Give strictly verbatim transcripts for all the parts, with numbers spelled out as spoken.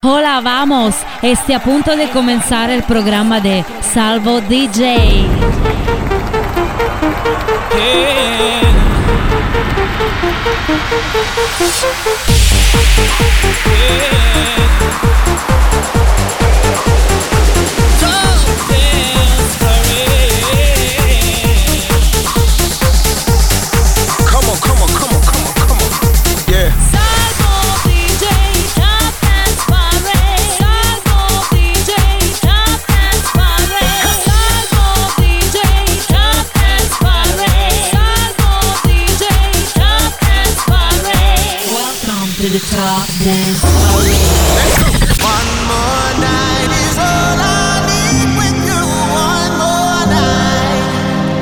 Hola, vamos. Esté a punto de comenzar el programa de Salvo D J. Yeah. Top Dance Party. One more night is all I need with you. One more night.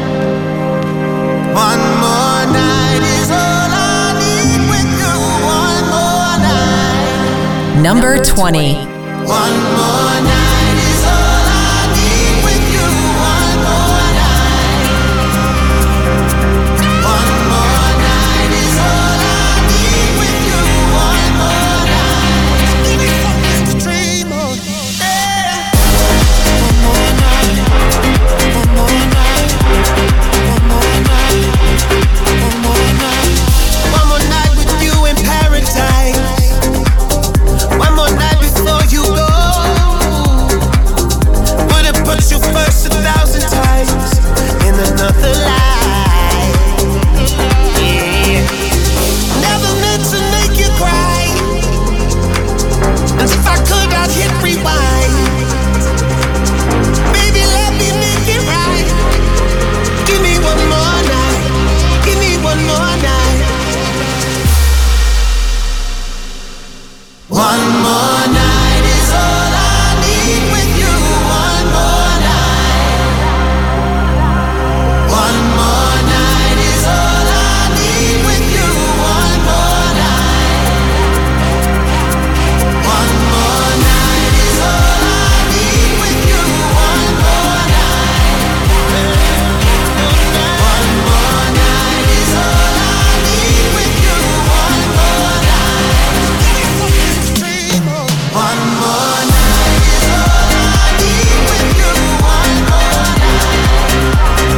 One more night is all I need with you. One more night. Number twenty. One more night is all I need with you. One more night. One more night is all I need with you. One more night. Give me something to dream of. Yeah. One more night. One more night. One more night. One more night. One more night with you in paradise. One more night before you go. Would've put you first a thousand times in another life. Yeah. Never meant to make you cry. And if I could, I'd hit rewind. Baby, let me make it right. Give me one more night. Give me one more night. One more night is all I need with you. One more night. One more night is all I need with you. One more night. One more night is all I need with you. One more night. One more night is all I need with you. One more night. One more night is all I need with you. One more night.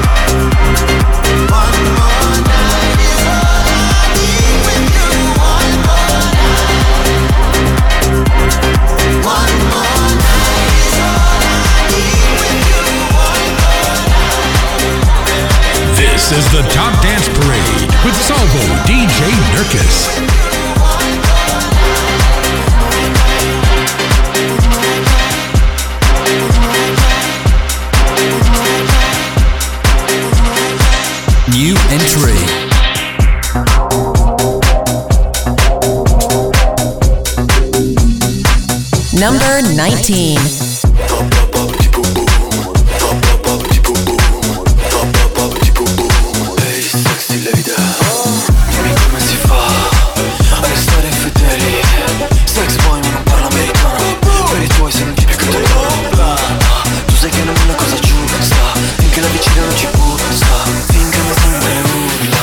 One more night is all I need with you. One more night. One more night is all I need with you. One more night. This is the Top Dance Parade with Salvo D J Nurkis. New entry. Number nineteen. Ehi, sexy lady, dimmi come si fa a restare fedeli. Sex boy ma non parla americano. Per i tuoi sei un tipo che te lo. Tu sai che non è una cosa giusta. Finché la vicina non ci gusta. Finché non sembra urla.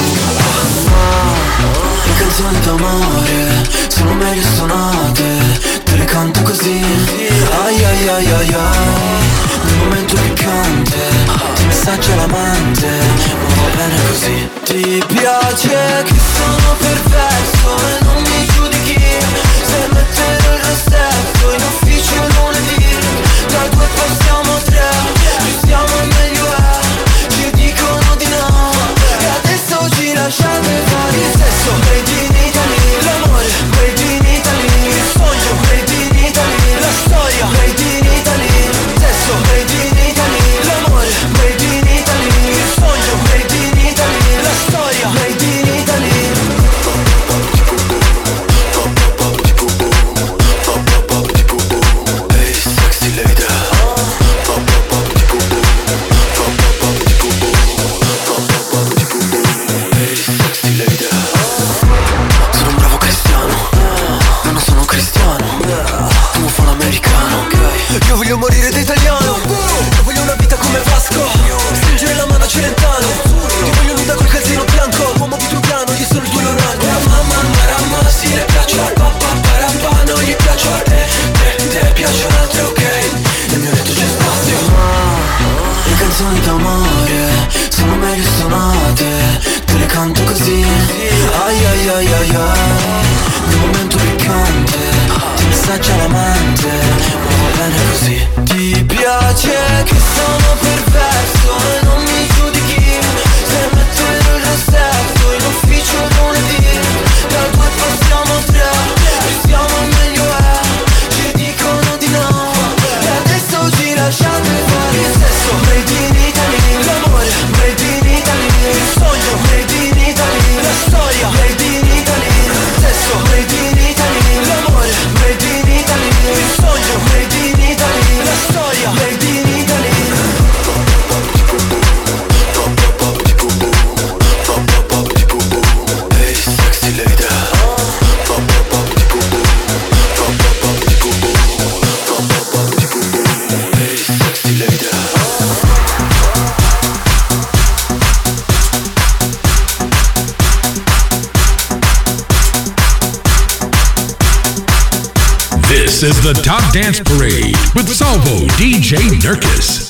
Ma le canzoni d'amore sono meglio suonate. Te le canto così. Ai ai ai ai ai. Nel momento piccante ti messaggia l'amante. Ma va bene così. Ti piace che sono perverso e non mi giudichi. Se metterò il rossetto in ufficio lunedì. Da due passiamo tre. Ci siamo meglio è. Ci dicono di no. E adesso ci lasciate fare il sesso. Made in Italy. L'amore made in Italy. Il sogno made in Italy. La storia made in Italy. Sesso made in Italy. L'amore made in Italy. Il sogno made in Italy. La storia made in Italy. This is the Top Dance Parade with Salvo D J Nurkis.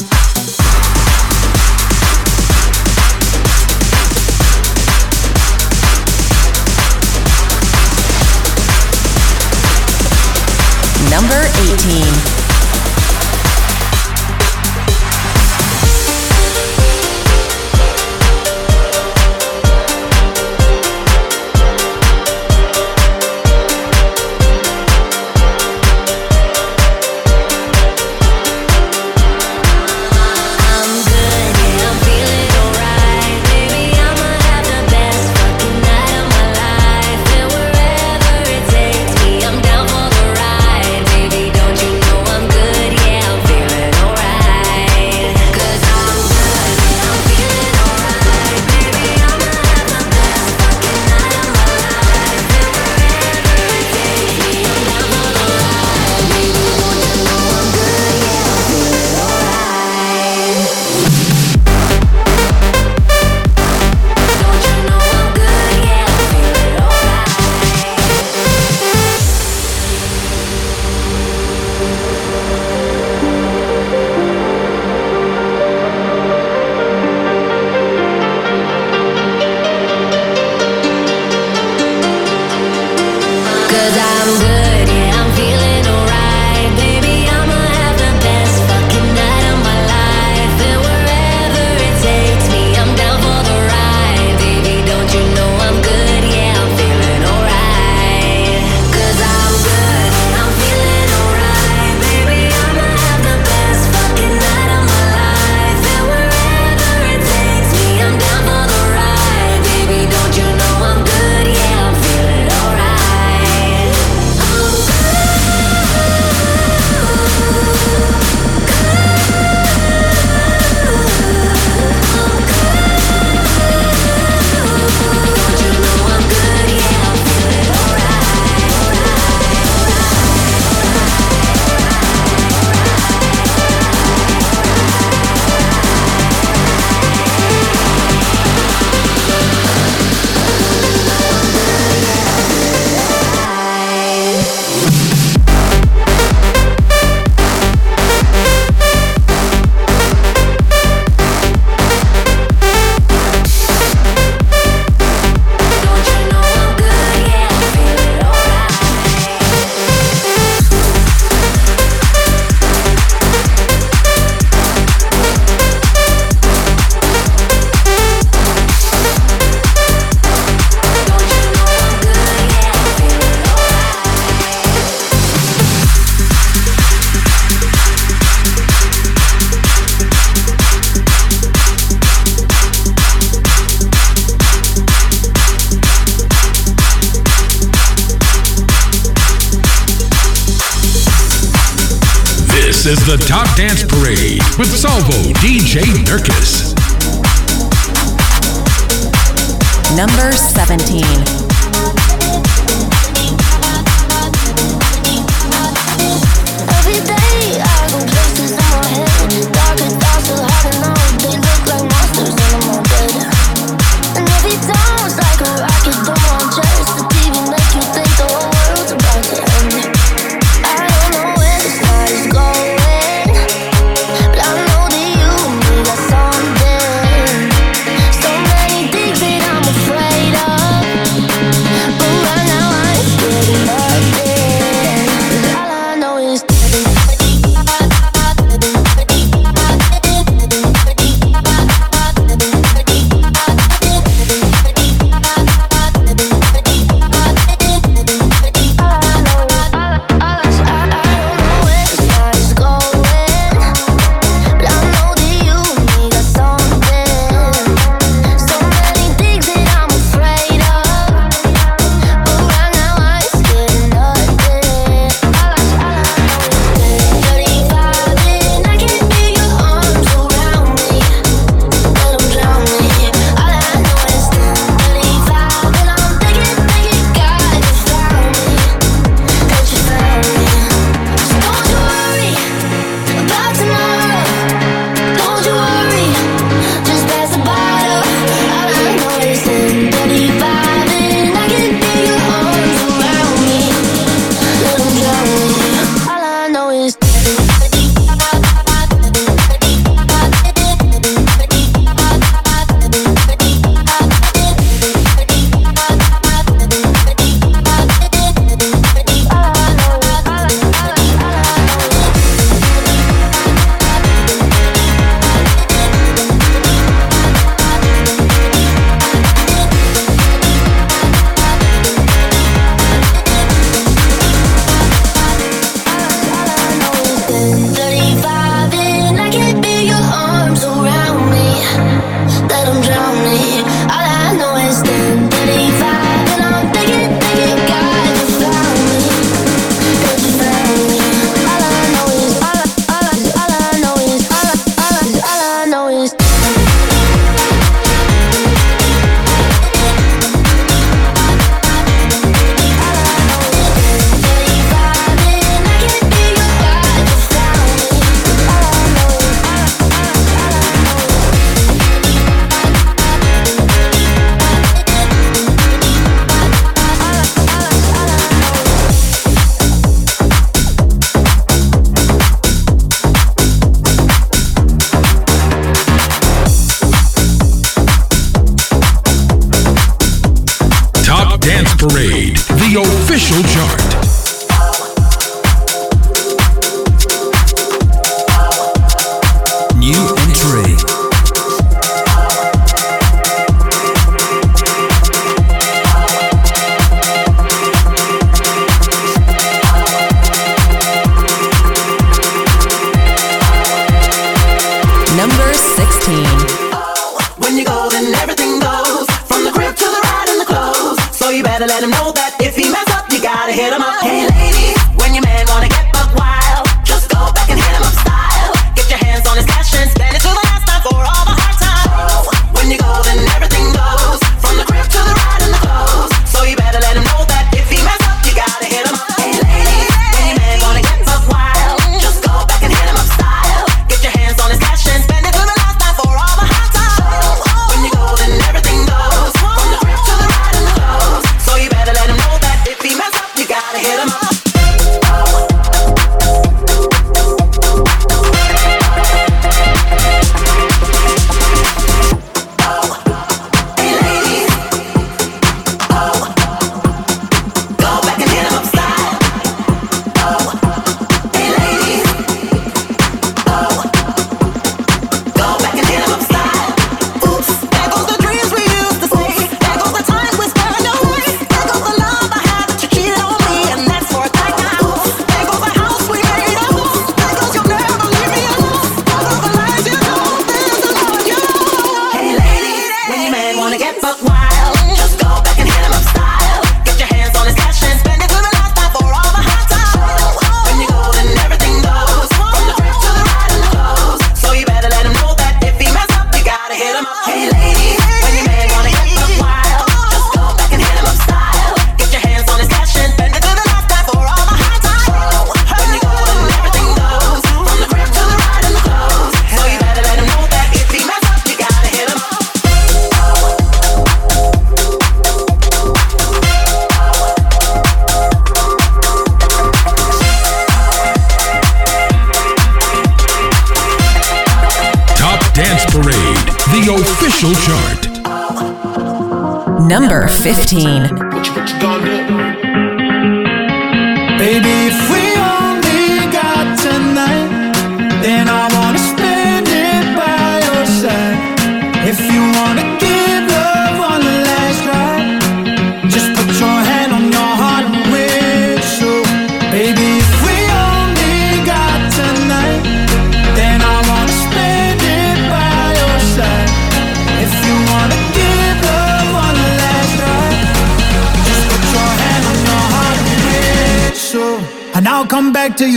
Number eighteen. This is the Top Dance Parade with Salvo D J Nurkis. Number seventeen. So many things that I'm afraid of. sixteen. When you go, then everything goes. From the crib to the ride and the clothes. So you better let him know that if he mess up, you gotta hit him up. Hey ladies, when your man wanna get buck wild, just go back and hit him up style. Get your hands on his cash and spend it till the last time for all the hard times. When you go, then everything goes. From the crib to the ride and the clothes. So you better let him know that if he mess up, you gotta hit him up. Hey ladies, when your man wanna get buck wild, just go back and hit him up style. Get your hands on his cash and spend it till the last time for all the hard times. When you go, then everything goes. From the crib to the ride and the clothes. So you better let him know that if he mess up, you gotta hit him up. Official chart. Number fifteen. Baby, if we only got tonight, then I wanna spend it by your side. If you wanna give love on the last ride, just put your hand on your heart and whistle. Baby, if we only got tonight, then I wanna spend it by your side. If you wanna give love on the last ride, just put your hand on your heart and whistle, and I'll come back to you.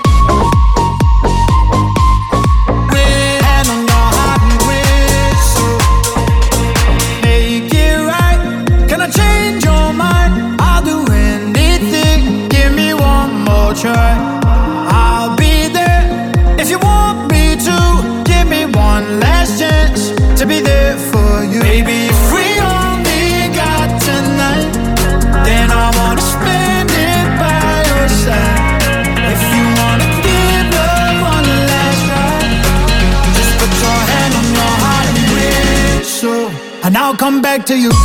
Hand on your heart and whistle. Make it right. Can I change your mind? I'll do anything. Give me one more try. I'll be there if you want me to. Give me one last chance to be there for you. Baby, if we only got tonight, then I wanna spend it by your side. If you wanna give love on the last ride, just put your hand on your heart and whistle, and I'll come back to you.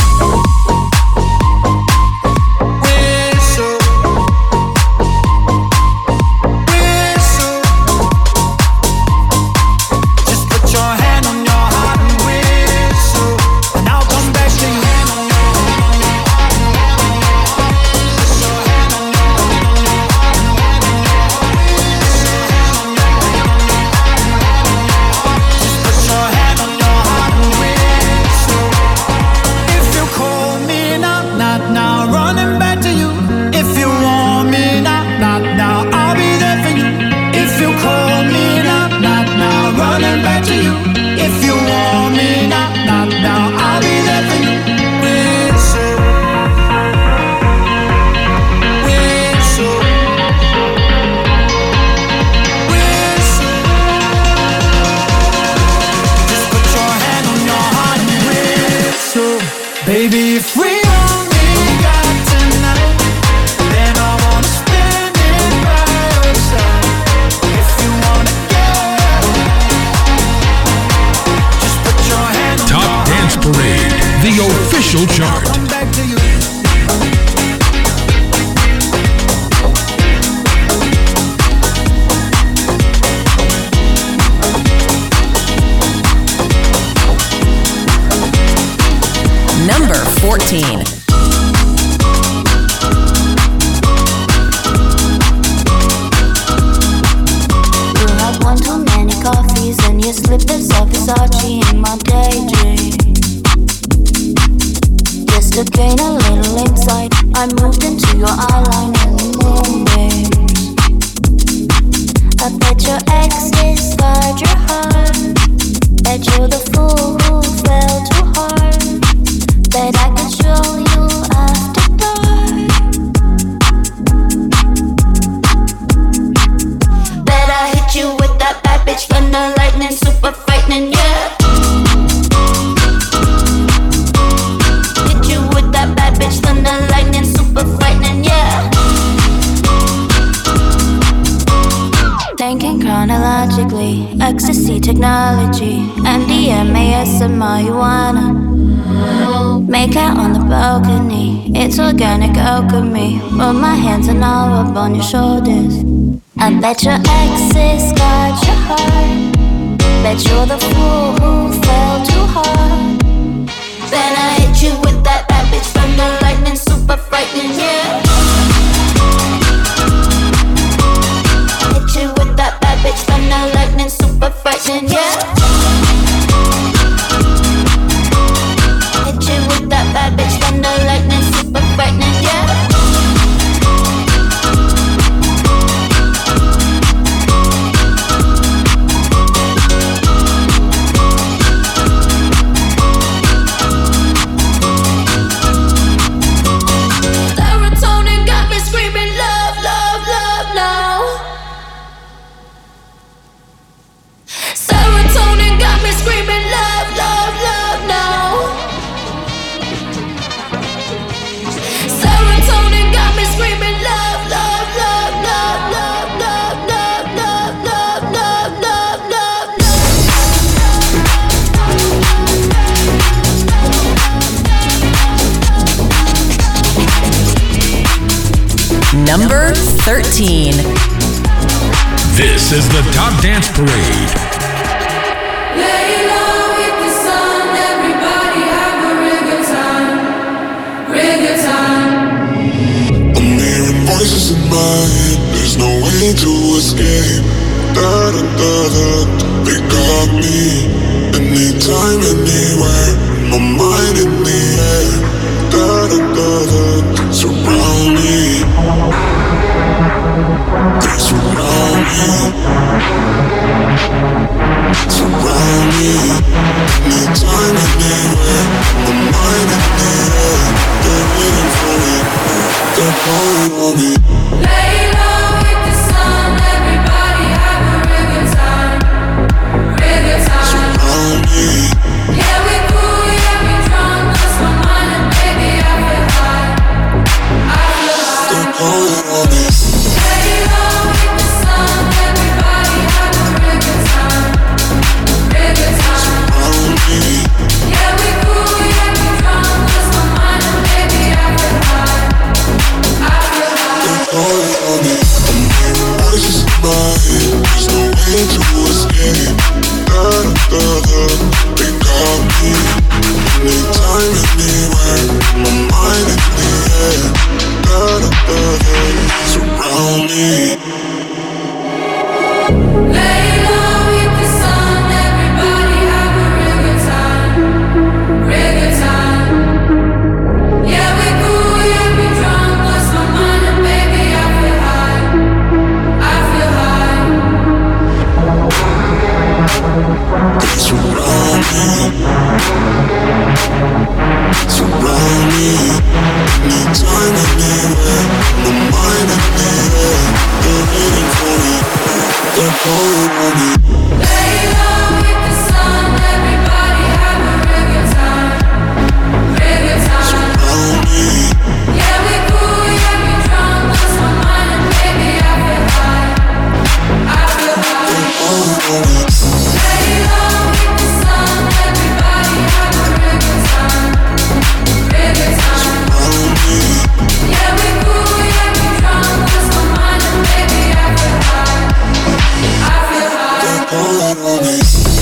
Whistle, whistle, just put your hand on your heart and whistle, and I'll come back to you. Baby, if we only got tonight, then I wanna spend it by your side. If you wanna go, just put your hand on Top your Dance heart. Parade, the official chart. Come back to you. Number fourteen. You had one too many coffees and your slippers of the Thinking chronologically, ecstasy technology, M D M A S and marijuana. Make out on the balcony, it's organic alchemy. Put my hands and all up on your shoulders. I bet your exes got your heart. Bet you're the fool who fell too hard. Then I hit you with that bad bitch from the lightning, super frightening, yeah. Hit you with that bad bitch from the lightning, super frightening, yeah. Hit you with that bad bitch from the lightning, super frightening, yeah. Number thirteen. This is the Top Dance Parade. Lay low with the sun, everybody have a real good time, real good time. I'm hearing voices in my head, there's no way to escape. Da da da da, they got me. Anytime, anywhere, my mind in the air. Da da da da, surround me. They surround me. Surround me. Anytime, anywhere, my mind in the air. They're waiting for me. They're calling on me. Lay low with the sun, everybody have a real good time, real good time. Surround me. Yeah, we cool, yeah, we drunk, lost my mind and baby I feel high, I feel high. They're calling on me. Lay low with the sun, everybody have a real good time, real good time. Surround me. Yeah, we cool, yeah, we drunk, lost my mind and baby I feel high, I feel high. They're calling on me. I'm hearing voices in my head, there's no way to escape. Da da da, they got me. Anytime, anywhere, my mind in the air. Da da da da, surround me. Lay low with the sun, everybody have a real good time, real good time. Yeah, we cool, yeah, we drunk, lost my mind and baby I feel high, I feel high. They surround me. Surround me. Anytime, anywhere, my mind in the air. They're waiting for me. They're calling on me. Lay low with the sun, everybody have a real good time, real good time. Surround me. Yeah, we cool, yeah, we drunk, lost my mind and baby I feel high, I feel high. They're calling on me. Lay low with the sun, everybody have a real good time, real good time. Surround me. Yeah, we cool, yeah, we drunk, lost my mind and baby I feel high, I feel high. They're calling on me.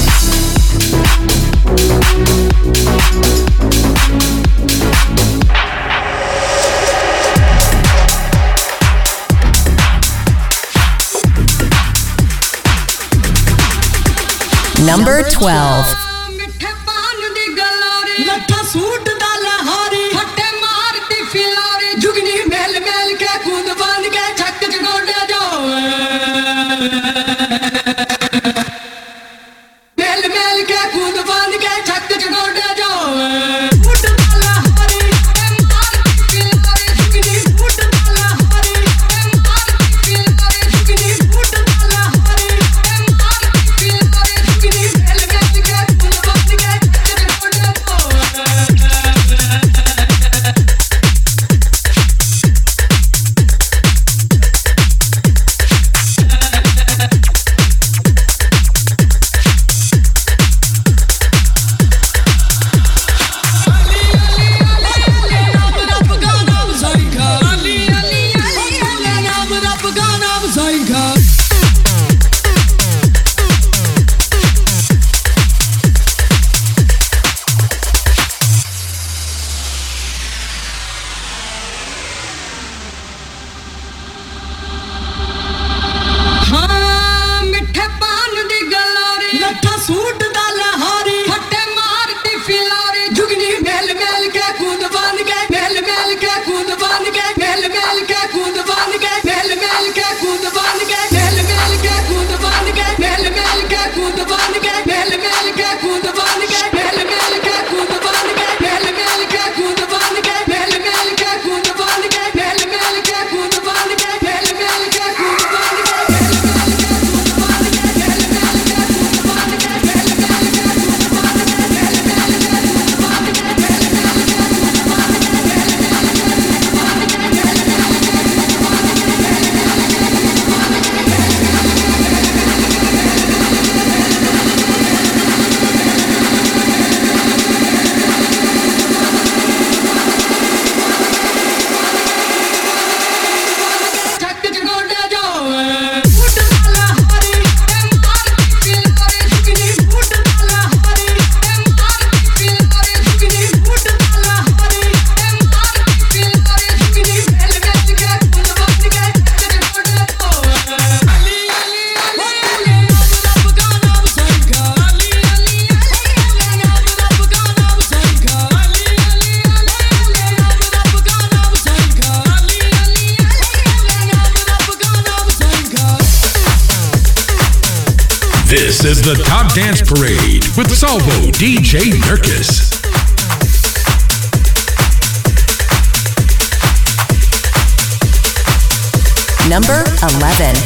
Number twelve. ਮਿੱਠੇ ਪਾਨ ਦੀ ਗਲੋਰੀ ਲੱਠਾ ਸੂਟ ਦਾ ਲਹਾਰੀ ਫੱਟੇ ਮਾਰਦੀ ਫਿਲਾਰੀ ਜੁਗਨੀ ਮੇਲ ਮੇਲ ਕੇ ਕੂਦ ਬੰਨ ਕੇ ਛੱਕ ਚ ਗੋਡੇ ਜਾਵੇ ਮੇਲ ਮੇਲ ਕੇ ਕੂਦ ਬੰਨ ਕੇ ਛੱਕ ਚ ਗੋਡੇ ਜਾਵੇ ਸੂਟ ਦਾ ਲਹਾਰੀ ਮਾਰਦੀ ਫਿਲਾਰੀ ਜੁਗਨੀ ਸੂਟ ਦਾ ਲਹਾਰੀ ਮਾਰਦੀ ਫਿਲਾਰੀ ਜੁਗਨੀ ਸੂਟ ਦਾ ਲਹਾਰੀ ਮਾਰਦੀ ਫਿਲਾਰੀ ਜੁਗਨੀ ਮੇਲ ਮੇਲ ਕੇ ਕੂਦ ਬੰਨ ਕੇ ਛੱਕ ਚ ਗੋਡੇ ਜਾਵੇ This is the Top Dance Parade with Salvo D J Nurkis. Number eleven.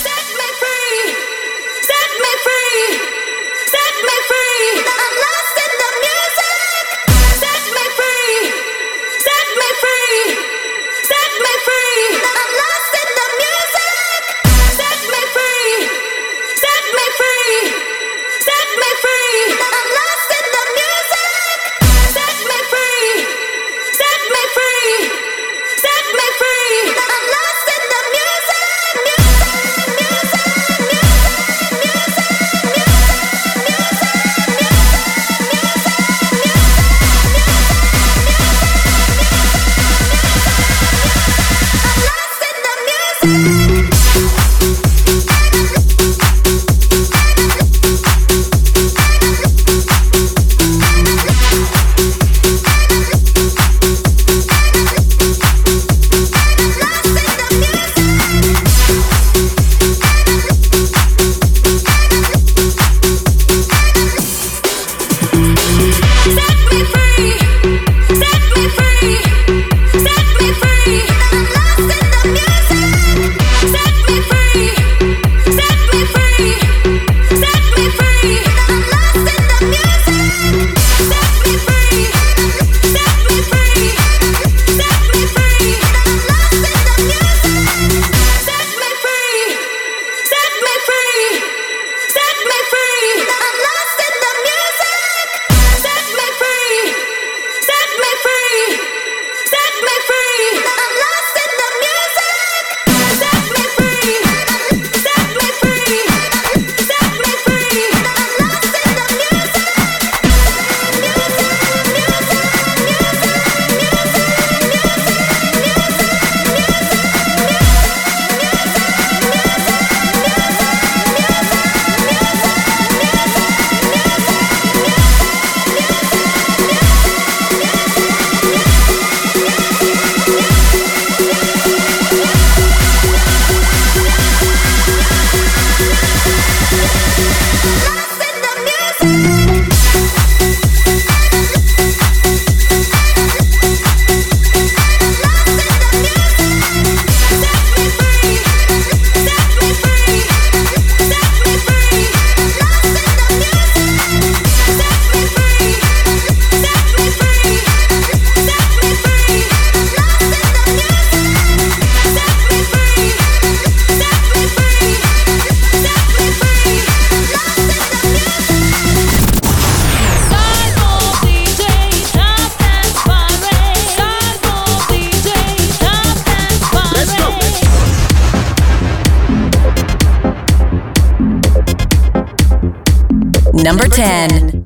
Number ten.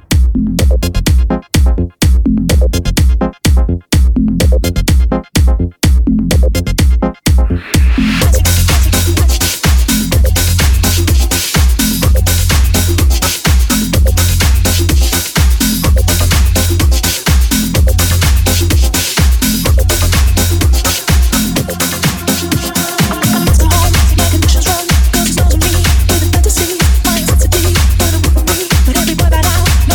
Every boy right out.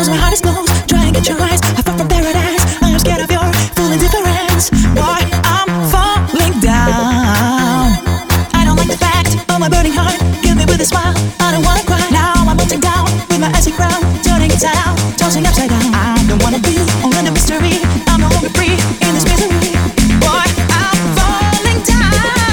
knows my heart is closed. Try and get your eyes. I fall from paradise. I am scared of your full indifference. Boy, I'm falling down. I don't like the fact of my burning heart. Kill me with a smile. I don't wanna cry. Now I'm melting down with my icy crown, turning inside out, tossing upside down. I don't wanna be all in the mystery. I'm no longer free in this misery. Boy, I'm falling down.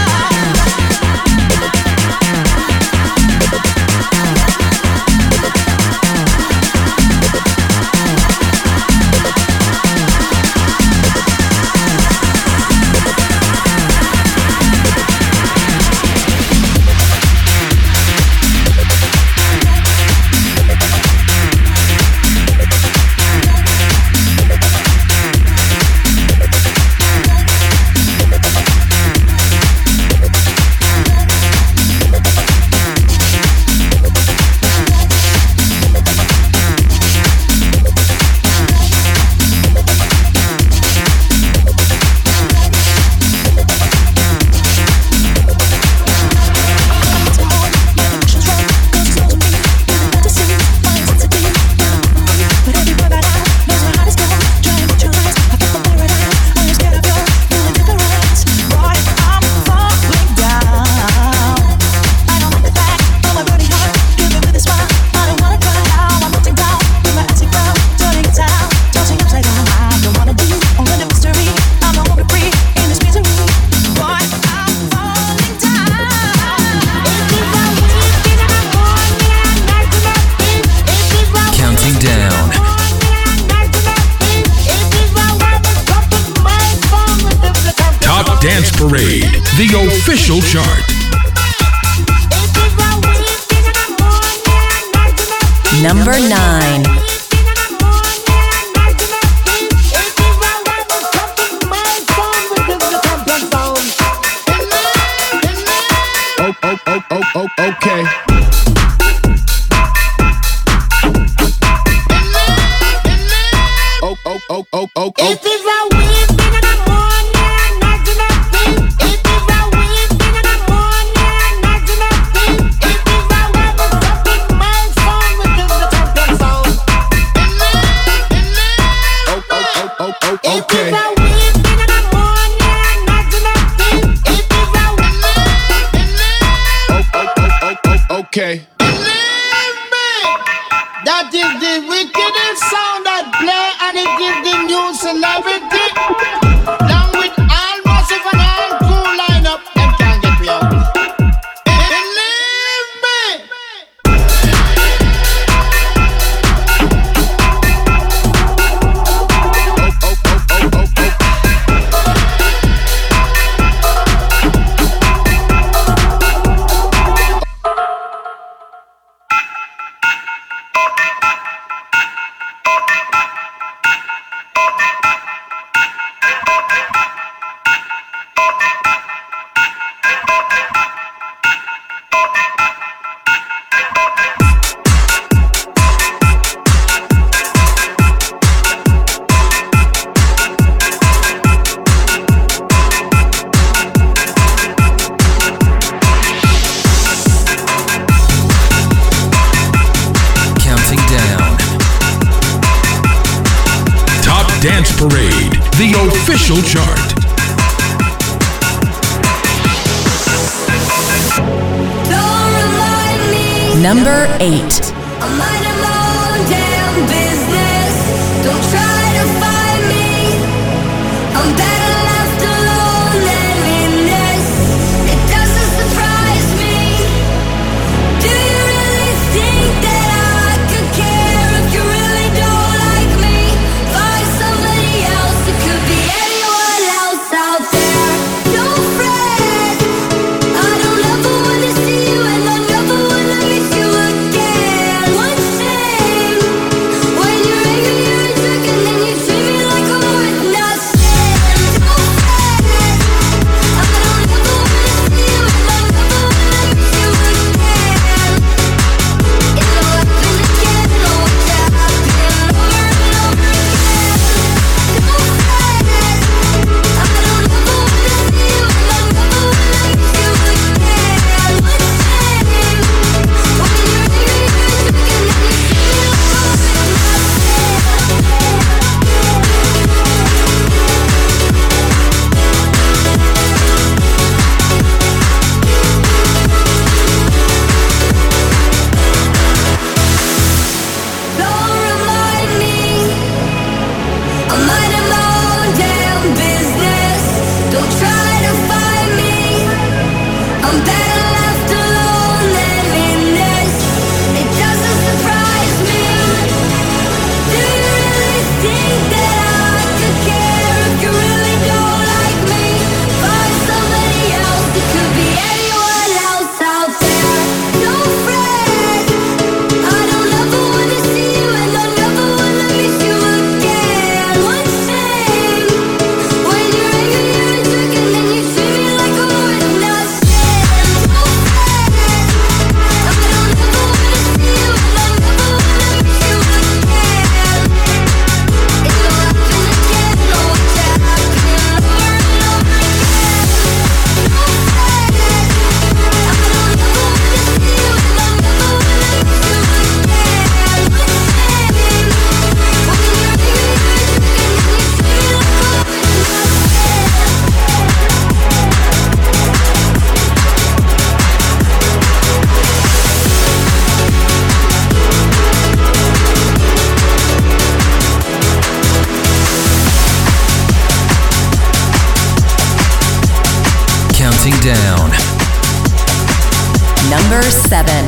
Dance Parade, the official chart. Number nine. Oh, oh, oh, oh, oh, okay. Oh, oh, oh, oh, oh, oh. Okay. That is the wickedest sound that play, and it gives the new celebrity. Along with all massive and all cool lineup, them can't get me out. Believe me. Dance Parade, the official chart. Number eight. I'm minding my own damn business. Don't try to find me. I'm better left alone than in this. It doesn't surprise me. Do you really think that I could care if you really don't like me? Find somebody else. It could be anyone else out there. Don't fret. I don't ever wanna see you, and I never wanna miss you again. One chance. Number seven.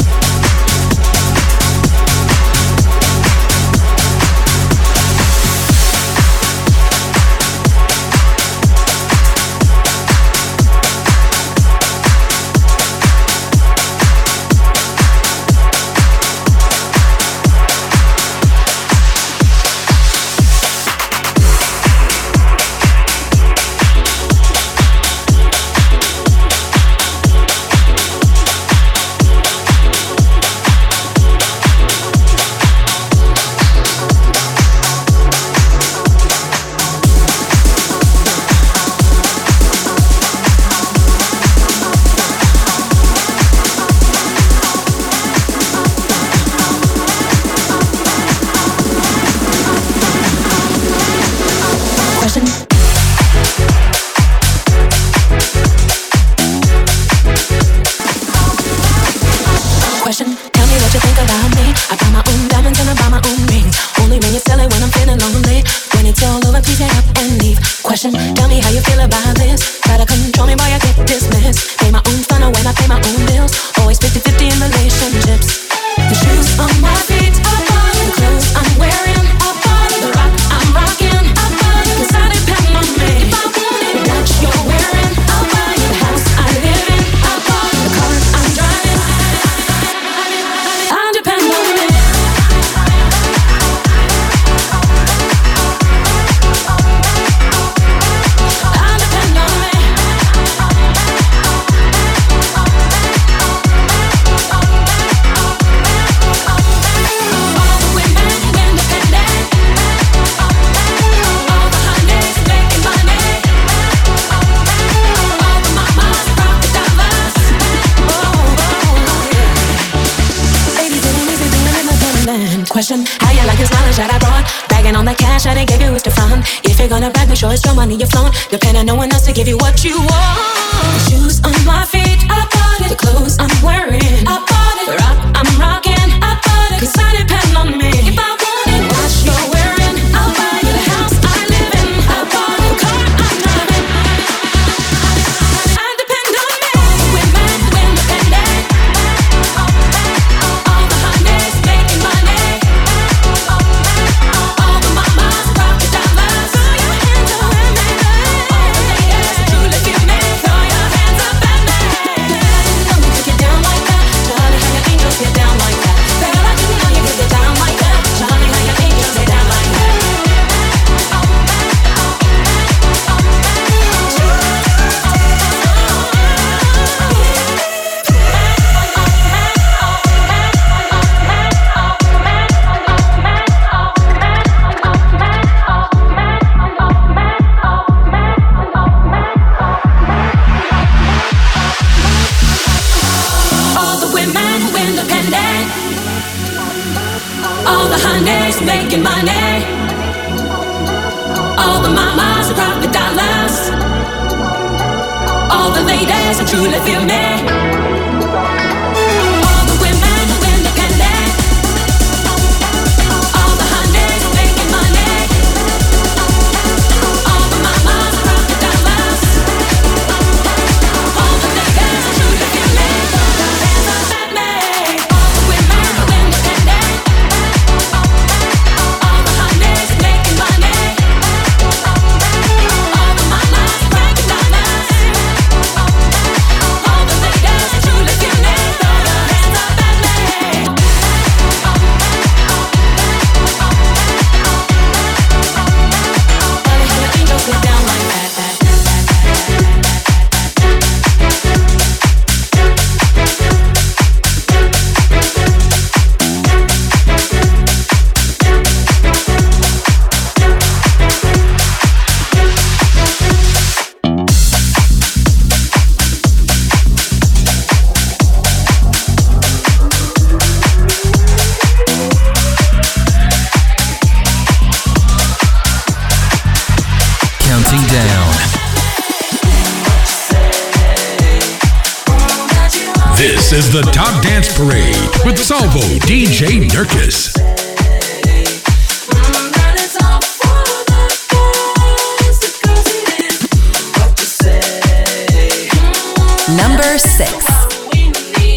Question, how you like this knowledge that I brought? Bragging on the cash that I gave you is the front. If you're gonna brag, make sure it's your money you flaunt. Depend on no one else to give you what you want. The shoes on my feet, I bought it. The clothes I'm wearing, I bought it. The rock I'm rocking, I bought it. Cause I depend on me. If I want it, watch you're wearing, I'll buy you. The house I live in, I bought it. The car I'm driving, I depend on me. Women, independent. All the honeys making money. All the mamas rock the dollars. Throw your hands up at me. All the ladies, truly feel me. Throw your hands up at me. Know you get down like that. Charlie, how your angels get down like that. Girl, I didn't know you could get down like that. Charlie, how your angels get down like that. All the women who independent. All the honeys making money. All the mamas who rock the dollars. All the ladies who truly feel me. All the women who independent. All the honeys making money. All the mamas who rock the dollars. All the ladies who truly feel me. Hands up at me. All the women who independent. All the honeys making money. All the mamas who rock the dollars. All the ladies who truly feel me. Throw your hands up at me. Charlie, how your angels get down like that. Counting down. This is the Top Dance Parade with Salvo D J Nurkis. Number six.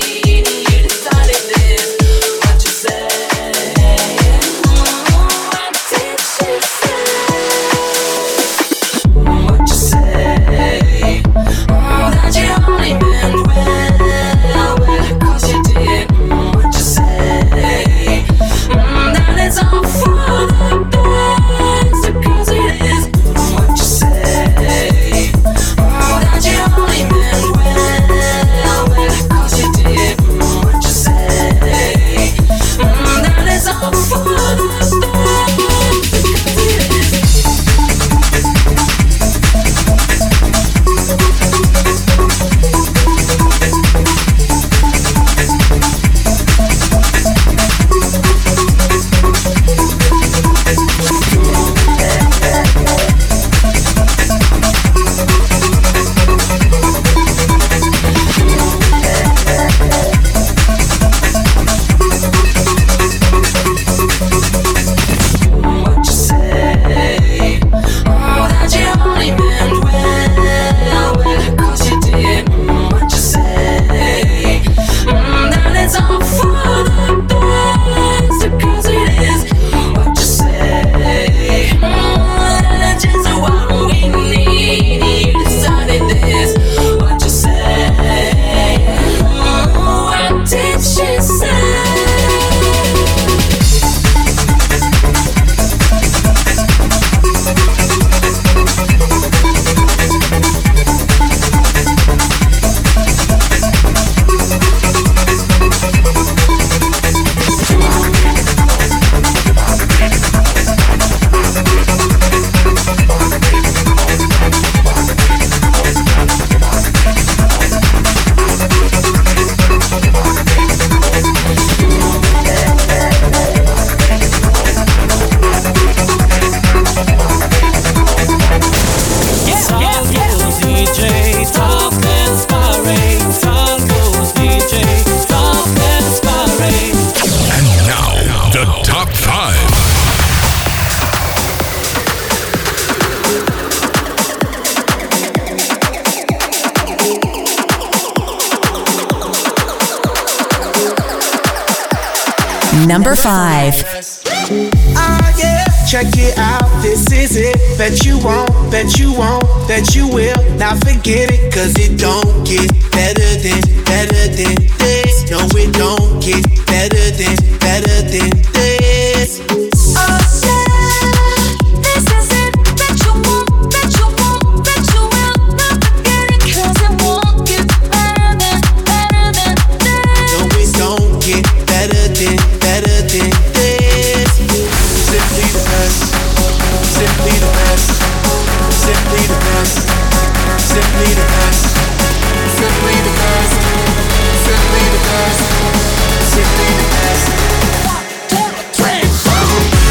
Number five. Ah, yeah, check it out, this is it. Bet you won't, bet you won't, bet you will. Now forget it, cause it don't get better than, better than this. No, it don't get better than, better than this. Oh yeah, this is it. Bet you won't, bet you won't, bet you will. Now forget it, cause it won't get better than, better than this. No, it don't get better than, better than this. Simply the best, simply the best, simply the best, simply the best, simply the best, simply the best, simply the best. One, two, three, four.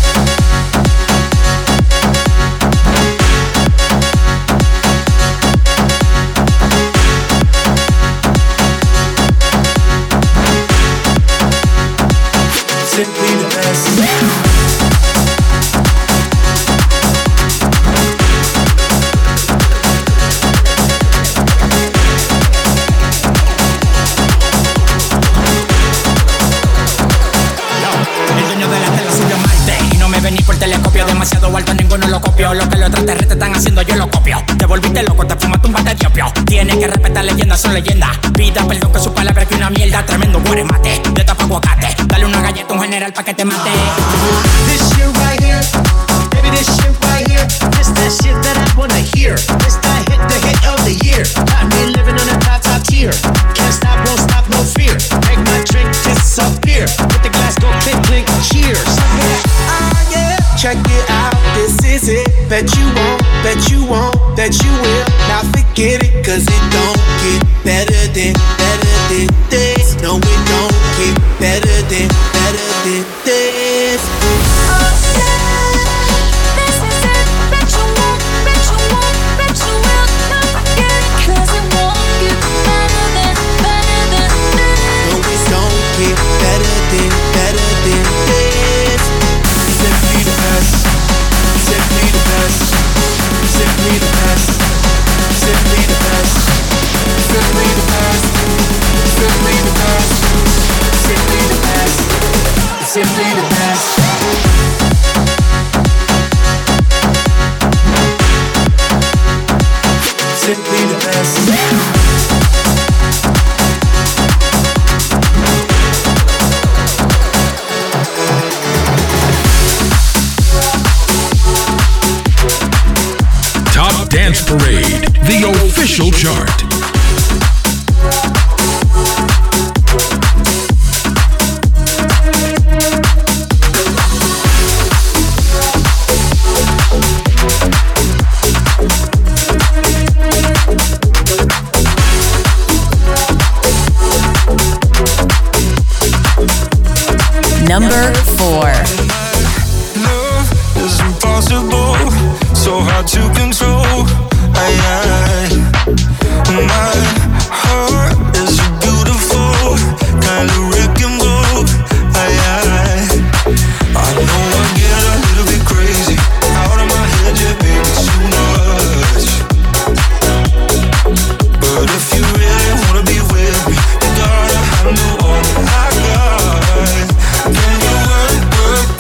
Simply the best. Por telescopio demasiado alto, ninguno lo copió. Lo que los extraterrestres están haciendo yo lo copio. Te volviste loco, te fumaste un bate de opio. Tienes que respetar leyendas, son leyendas. Pida perdón que su palabra que una mierda. Tremendo guaremate, de tapa aguacate. Dale una galleta a un general pa' que te mate. This shit right here, baby, this shit right here. This that shit that I wanna hear. This that hit, the hit of the year. Got me living on a top, top tier. Can't stop, won't stop, no fear. Make my drink disappear. With the glass go clink, clink, cheers. Ah, yeah. Check it out, this is it. Bet you won't, bet you won't, bet you will. Now forget it, cause it don't get better than, better than this. No, it don't get better than, better than this. Oh yeah, this is it. Bet you won't, bet you won't, bet you will. Now forget it, cause it won't get better than, better than this. No, it don't get better than, better than this. Simply the best, simply the best, simply the best, simply the best, simply the best, simply the best, simply the best, simply the best. Simply the best. Top Dance Parade, the official chart. Number four. Love is impossible, so hard to control. I, I, my heart is a beautiful kind of wreck and roll. I, I, I know I get a little bit crazy out of my head, yeah, baby, too much. But if you really wanna be with me, you gotta handle all that I got. Can you work, work,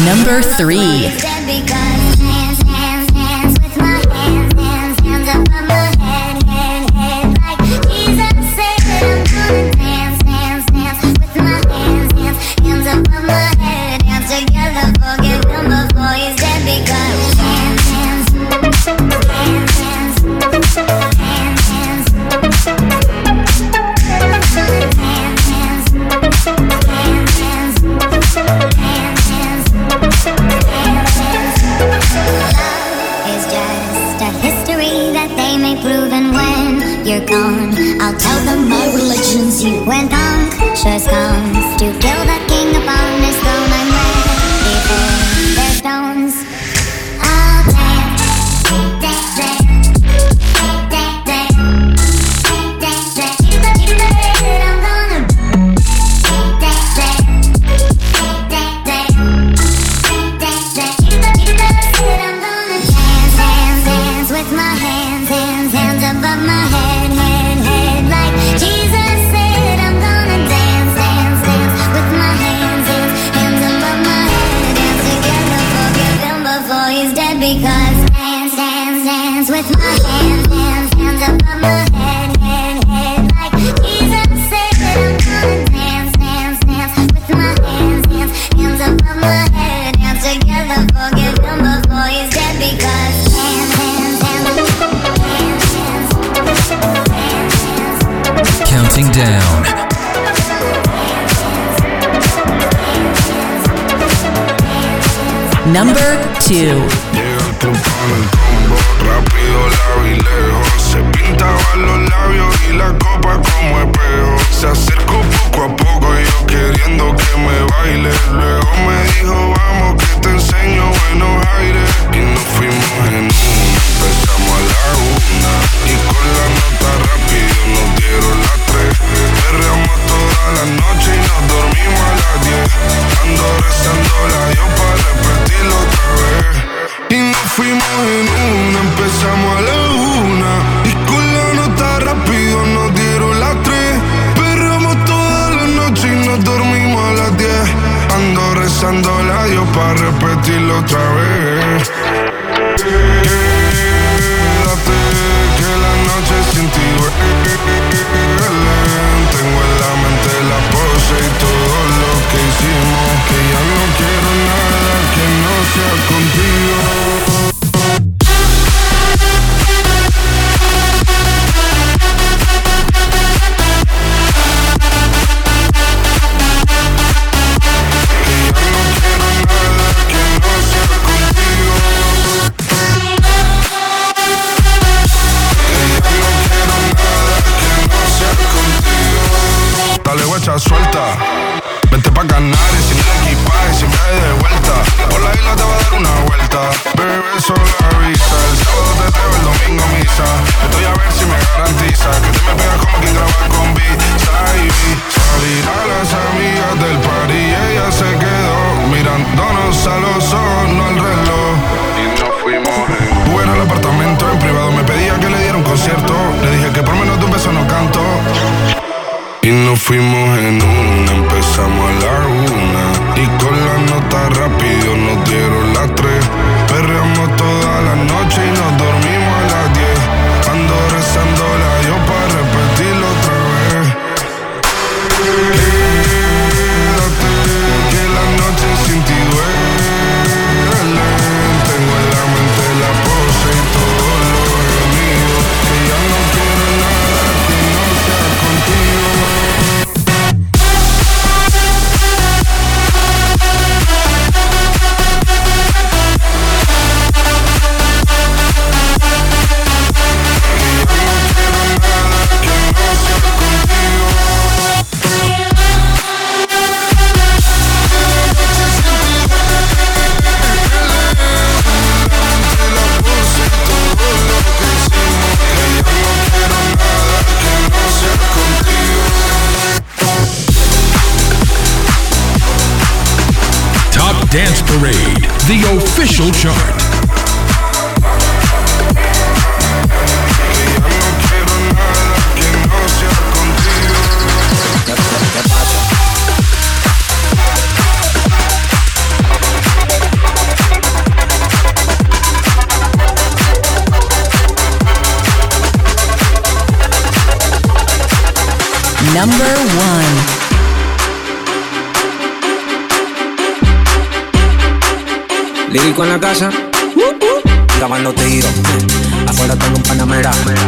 Number three. You're gone, I'll tell them my religion's you went unctuous comes to kill the king upon his throne. I'm ready for their stones. I'll dance, dance, dance, dance, dance, dance, dance, dance. Keep the, keep the head, I'm gonna dance, dance, dance, dance, dance, dance. Keep the, keep the head, I'm gonna dance, dance, dance with my hands, hands, hands above my head. Because dance, dance, dance with my hands, hands, hands above my head, head, head. Like Jesus said, I'm gonna dance, dance, dance with my hands, hands, hands above my head. Dance together, forgive him before he's dead. Because dance, dance, dance, dance, dance, dance. Counting down. Number two. Con el combo, rápido, largo y lejos. Se pintaban los labios y la copa como espejo. Se acercó poco a poco y yo queriendo que me baile. Luego me dijo, vamos que te enseño buenos aires. Y nos fuimos en una, empezamos a la una. Y con la nota rápido nos dieron las tres. Perreamos toda la noche y nos dormimos a las diez. Ando rezando la Dios para repetirlo otra vez. Y nos fuimos en una, empezamos a la una. Y con la nota rápido nos dieron las tres. Perramos toda la noche y nos dormimos a las diez. Ando rezando a Dios para repetirlo otra vez. Quédate, que la noche sin ti duele. Tengo en la mente la pose y todo lo que hicimos. Que ya no quiero nada que no sea contigo. Suelta, vente pa' Canarias sin el equipaje, sin viaje de vuelta. Por la isla te va a dar una vuelta. Bebé, solo avisa. El sábado te traigo, el domingo misa. Estoy a ver si me garantiza que te me pegas como quien graba con Visa y B. Salir a las amigas del party y ella se quedó mirándonos a los ojos, no al reloj. Y nos fuimos en fuera al apartamento en privado. Me pedía que le diera un concierto. Le dije que por menos de un beso no canto. Y nos fuimos en una, empezamos a la una. Y con la nota rápido nos dieron las tres. Perreamos toda la noche y nos dormimos a las diez. Ando rezando la Dios para repetirlo otra vez. Quédate, que la noche sin ti duele. Tengo en la mente la pose y todo lo gemido. Que ya no quiero nada que no sea contigo. Dance Parade, the official chart. number one. Lírico en la casa, grabando tiro. Afuera tengo un panamera.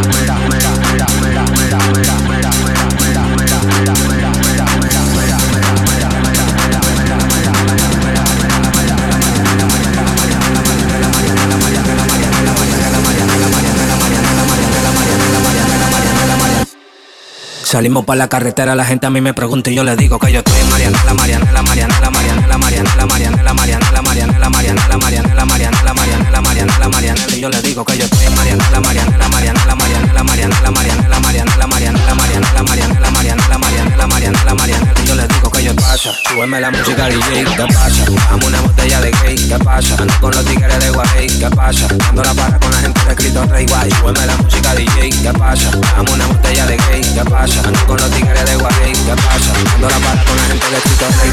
Salimos pa' la carretera, la gente a mí me pregunta y yo le digo que yo estoy en Marianela, Marianela, Marianela, Marianela, Marianela, Marianela, Marianela, Marianela, Marianela, Marianela, Marianela, Marianela, Marianela, Marianela, y yo le digo que yo estoy en Marianela, Marianela, Marianela, Marianela, Marianela, Marianela, Marianela, Marianela, Marianela, Marianela, Marianela, Marianela, Marianela, Marianela, y yo le digo que yo pasa, súbeme la música D J, ¿qué pasa? Dame una botella de gay, ¿qué pasa? Ando con los tigres de Guay, ¿qué pasa? Ando la para con la gente de Cristo Rey Guay, súbeme la música D J, ¿qué pasa? Dame una botella de gay, ¿qué pasa? Ando con los tigres de Guay, ¿qué pasa? Ando la para con la gente de Cristo Rey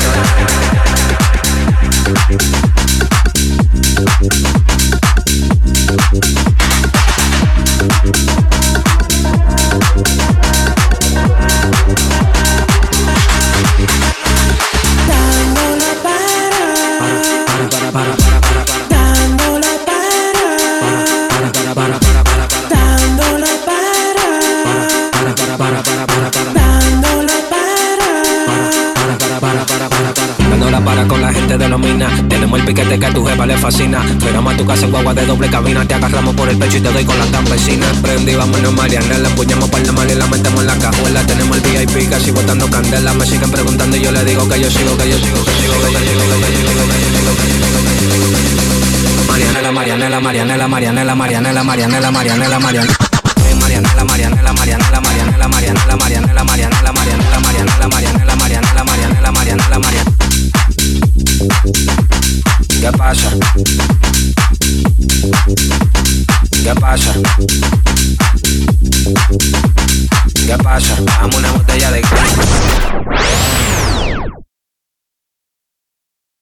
para con la gente de los minas. Tenemos el piquete que a tu jefa le fascina. Llegamos a tu casa en guagua de doble cabina. Te agarramos por el pecho y te doy con la campesina. Prendí, vámonos Marianela. Empuñamos par de mal y la metemos en la cajuela. Tenemos el V I P casi botando candela. Me siguen preguntando y yo le digo que yo sigo, que yo sigo, que sigo, que yo sigo, que yo sigo, que yo sigo, que yo sigo. Marianela, Marianela, Marianela, Marianela, Marianela, Marianela, Marianela, Marianela. Marianela, Marianela, Marianela, Marianela, Marianela, Marianela, Marianela, Marianela, Marianela, Marianela, Marianela, Marianela, Marianela, Marianela. ¿Qué pasa? ¿Qué pasa? ¿Qué pasa? Dame una botella de